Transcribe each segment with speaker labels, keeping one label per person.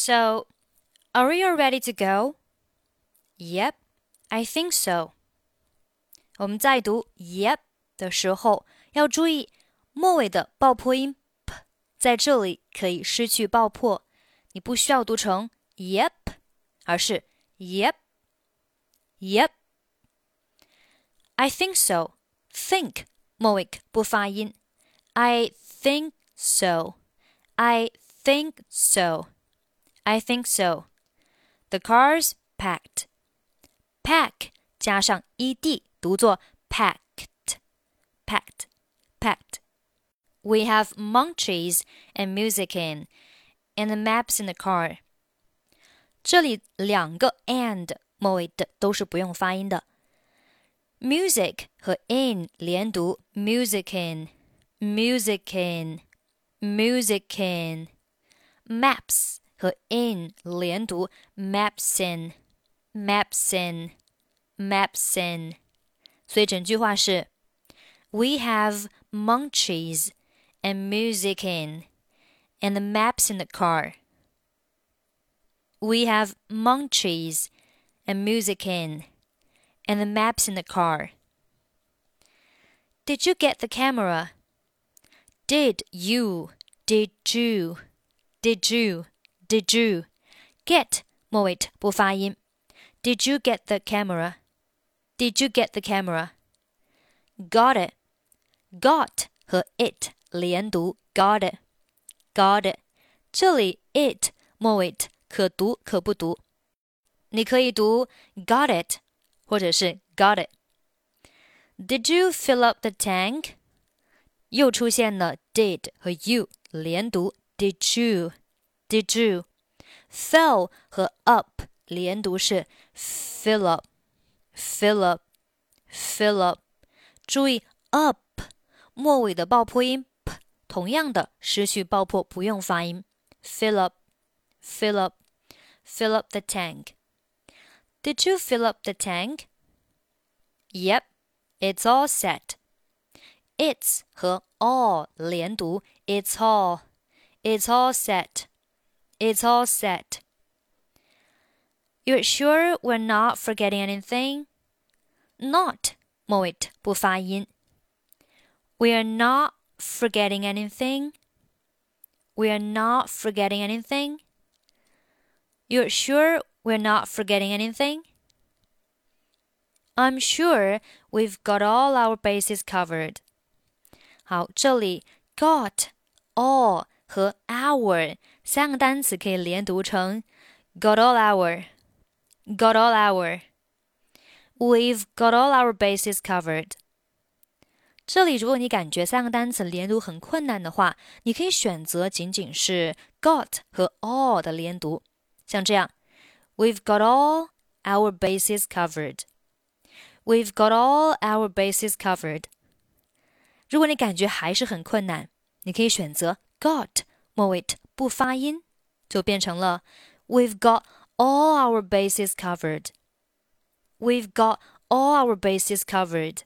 Speaker 1: So, are we all ready to go? Yep, I think so. 我们在读 yep 的时候，要注意末尾的爆破音 p， 在这里可以失去爆破，你不需要读成 yep， 而是 yep, yep. I think so. Think 末尾不发音。I think so. I think so. I think so. The car's packed. Pack 加上 ed 读作 packed, packed, packed. We have munchies and music in, and the maps in the car. 这里两个 and 末尾的都是不用发音的。Music 和 in 连读 music in, music in, music in. Maps 和 in 连读 maps in, maps in, maps in. 所以整句话是 We have munchies and music in, and the maps in the car. We have munchies and music in, and the maps in the car. Did you get the camera? Did you, did you, did you, did you. Get 末尾不发音。Did you get the camera? Did you get the camera? Got it. Got 和 it 连读 got it, got it. 这里 it 末尾可读可不读。你可以读 got it 或者是 got it. Did you fill up the tank? 又出现了 did 和 you 连读 did you, did you. Fill 和 up 连读是 fill up, fill up, fill up. 注意 up 末尾的爆破音 p 同样的失去爆破不用发音 fill up, fill up, fill up the tank. Did you fill up the tank? Yep, it's all set. It's 和 all 连读 it's all, it's all set, it's all set. You're sure we're not forgetting anything? Not 末尾不发音。We're not forgetting anything. We're not forgetting anything. You're sure we're not forgetting anything? I'm sure we've got all our bases covered. 好，这里 got, all 和 our 三个单词可以连读成 got all our, got all our. We've got all our bases covered. 这里如果你感觉三个单词连读很困难的话，你可以选择仅仅是 got 和 all 的连读，像这样 We've got all our bases covered. We've got all our bases covered. 如果你感觉还是很困难，你可以选择 got 末尾不发音，就变成了 We've got all our bases covered. We've got all our bases covered.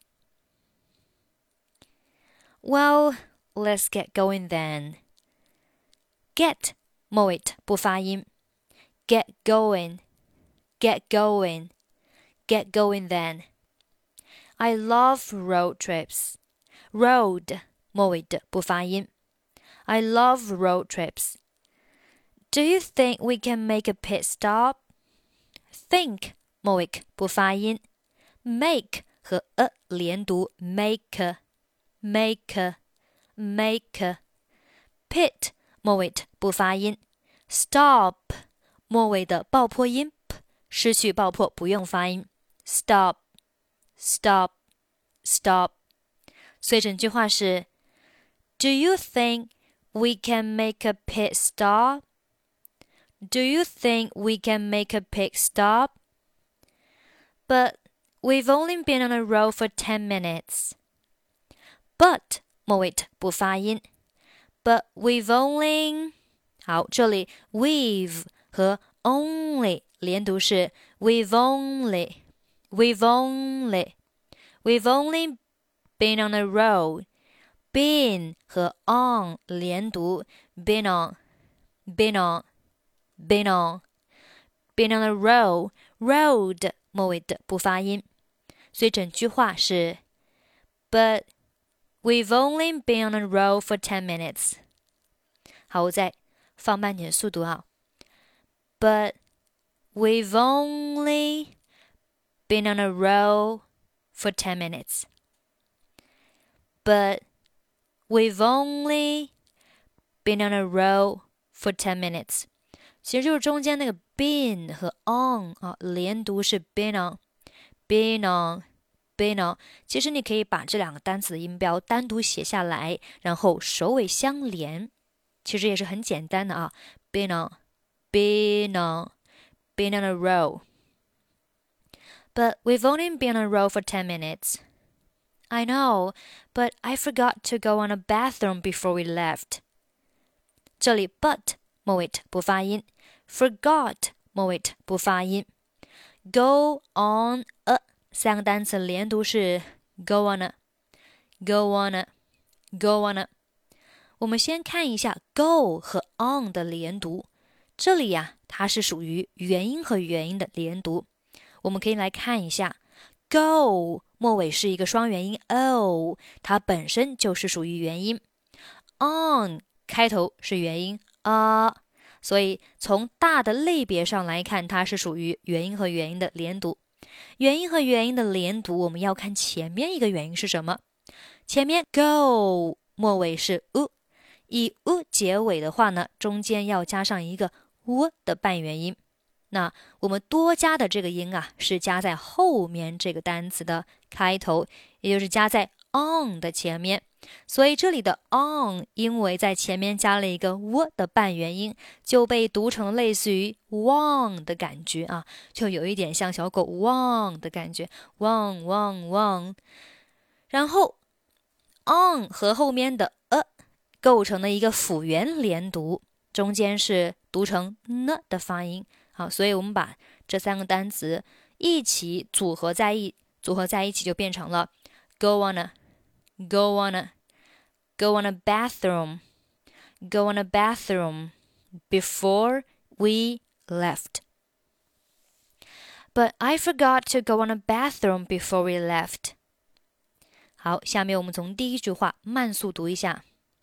Speaker 1: Well, let's get going then. Get 末尾不发音 Get going, get going, get going then. I love road trips. Road 末尾不发音 I love road trips. Do you think we can make a pit stop? Think 末尾不发音 Make 和 a 连读 make, make, make. Pit 末尾不发音 Stop 末尾的爆破音 p 失去爆破不用发音 Stop, stop, stop. 所以整句话是 Do you think we can make a pit stop? Do you think we can make a pit stop? But we've only been on the road for 10 minutes. But 末尾不发音 But we've only 好，这里 we've 和 only 连读是 We've only, we've only, we've only been on the road. Been 和 on 连读 Been on, been on, been on been on a roll road 末尾的不发音，所以整句话是 But we've only been on a roll for 10 minutes 好，我再放慢点速度啊 But we've only been on a roll for 10 minutes But we've only been on a roll for 10 minutes 其实就是中间那个 been 和 on 啊，连读是 been on been on been on 其实你可以把这两个单词的音标单独写下来，然后首尾相连，其实也是很简单的啊 been on been on been on a roll But we've only been on a roll for 10 minutes I know, but I forgot to go on a bathroom before we left 这里 but 末尾不发音 forgot 末尾不发音 go on a 三个单词连读是 go on a go on a go on a 我们先看一下 go 和 on 的连读这里呀，它是属于元音和元音的连读我们可以来看一下 go 末尾是一个双元音 o 它本身就是属于元音 on 开头是元音啊所以从大的类别上来看，它是属于元音和元音的连读。元音和元音的连读，我们要看前面一个元音是什么。前面 go 末尾是 u， 以 u 结尾的话呢，中间要加上一个 w 的半元音。那我们多加的这个音啊，是加在后面这个单词的开头，也就是加在 on 的前面。所以这里的 on 因为在前面加了一个 w 的半元音，就被读成类似于 won 的感觉啊，就有一点像小狗 won 的感觉 won won won。然后 on 和后面的构成了一个辅元连读，中间是读成 n 的发音。好，所以我们把这三个单词一起组合在一起，就变成了 go on a go on a go on a bathroom go on a bathroom before we left But I forgot to go on a bathroom before we left 好，下面我们从第一句话慢速读一下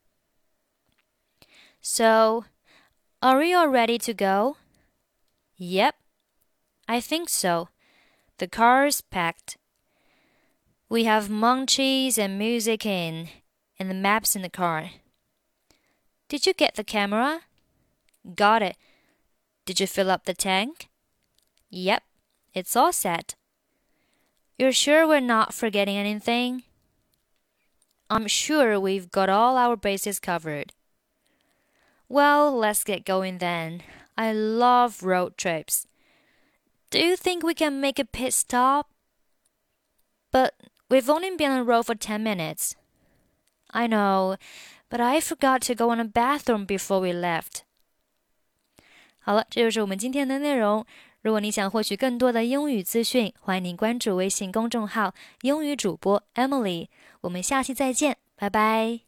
Speaker 1: So, are we all ready to go? Yep, I think so. The car's packed. We have munchies and music and the maps in the car. Did you get the camera? Got it. Did you fill up the tank? Yep, it's all set. You're sure we're not forgetting anything? I'm sure we've got all our bases covered. Well, let's get going then. I love road trips. Do you think we can make a pit stop? But we've only been on the road for 10 minutes. I know, but I forgot to go on a bathroom before we left. 好了，这就是我们今天的内容。如果你想获取更多的英语资讯，欢迎您关注微信公众号“英语主播 Emily”。我们下期再见，拜拜。